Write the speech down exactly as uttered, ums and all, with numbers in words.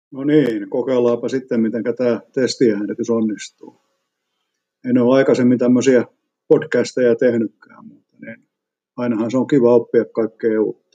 No niin, kokeillaanpa sitten, miten tämä testiäänitys onnistuu. En ole aikaisemmin tämmöisiä podcasteja tehnytkään, mutta niin ainahan se on kiva oppia kaikkea